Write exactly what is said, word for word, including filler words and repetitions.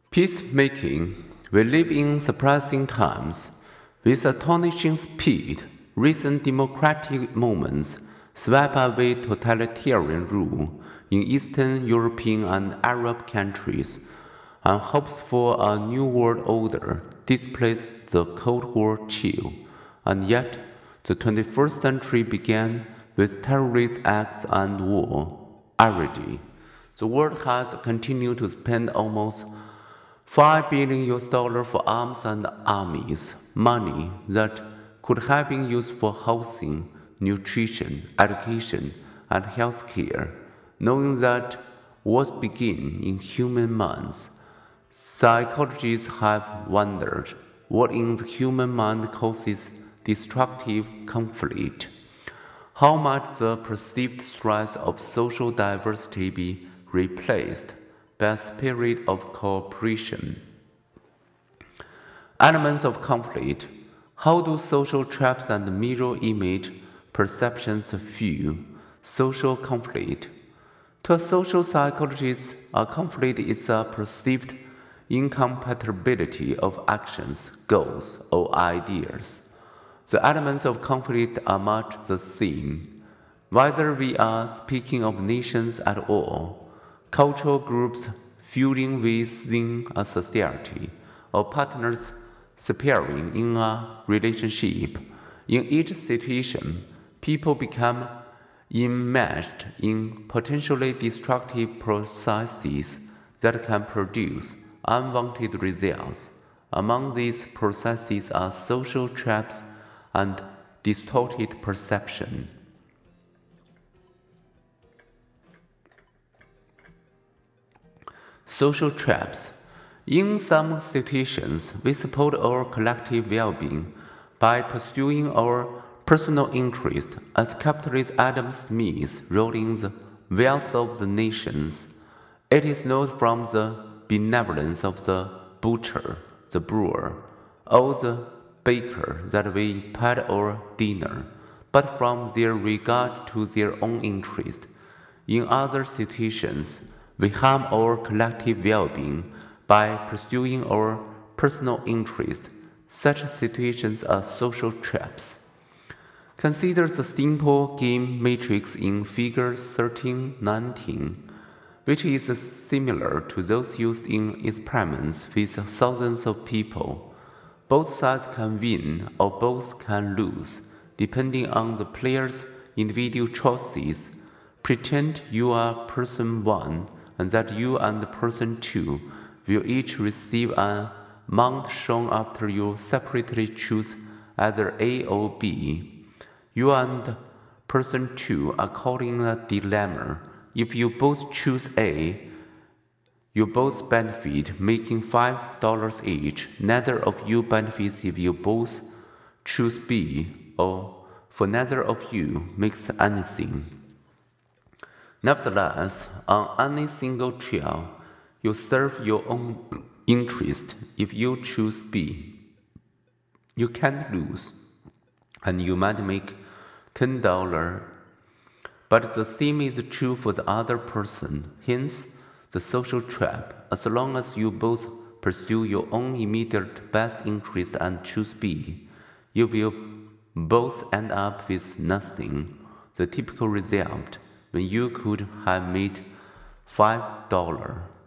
Peacemaking. We live in surprising times. With astonishing speed, recent democratic movements swept away totalitarian rule in Eastern European and Arab countries, and hopes for a new world order displaced the Cold War chill. And yet, the twenty-first century began with terrorist acts and war. Already, the world has continued to spend almost five billion U S dollars for arms and armies, money that could have been used for housing, nutrition, education, and healthcare, knowing that wars begin in human minds. Psychologists have wondered what in the human mind causes destructive conflict. How might the perceived stress of social diversity be replaced by a spirit of cooperation? Elements of conflict. How do social traps and mirror image perceptions fuel social conflict? To a social psychologist, a conflict is a perceived incompatibility of actions, goals, or ideas. The elements of conflict are much the same, whether we are speaking of nations at all, cultural groups feuding within a society, or partners separating in a relationship. In each situation, people become enmeshed in potentially destructive processes that can produce unwanted results. Among these processes are social traps and distorted perception. Social traps. In some situations, we support our collective well-being by pursuing our personal interest, as capitalist Adam Smith wrote in The Wealth of the Nations. It is not from the benevolence of the butcher, the brewer, or the baker that we expect our dinner, but from their regard to their own interest. In other situations, we harm our collective well-being by pursuing our personal interest. Such situations are social traps. Consider the simple game matrix in Figure thirteen nineteen, which is similar to those used in experiments with thousands of people. Both sides can win or both can lose, depending on the player's individual choices. Pretend you are person one and that you and person two will each receive an amount shown after you separately choose either A or B. You and person two are caught in a dilemma. If you both choose A, you both benefit, making five dollars each. Neither of you benefits if you both choose B, or for neither of you makes anything. Nevertheless, on any single trial, you serve your own interest. If you choose B, you can't lose, and you might make ten dollars. But the same is true for the other person. Hence, the social trap. As long as you both pursue your own immediate best interest and choose B, you will both end up with nothing. The typical result, when you could have made five dollars.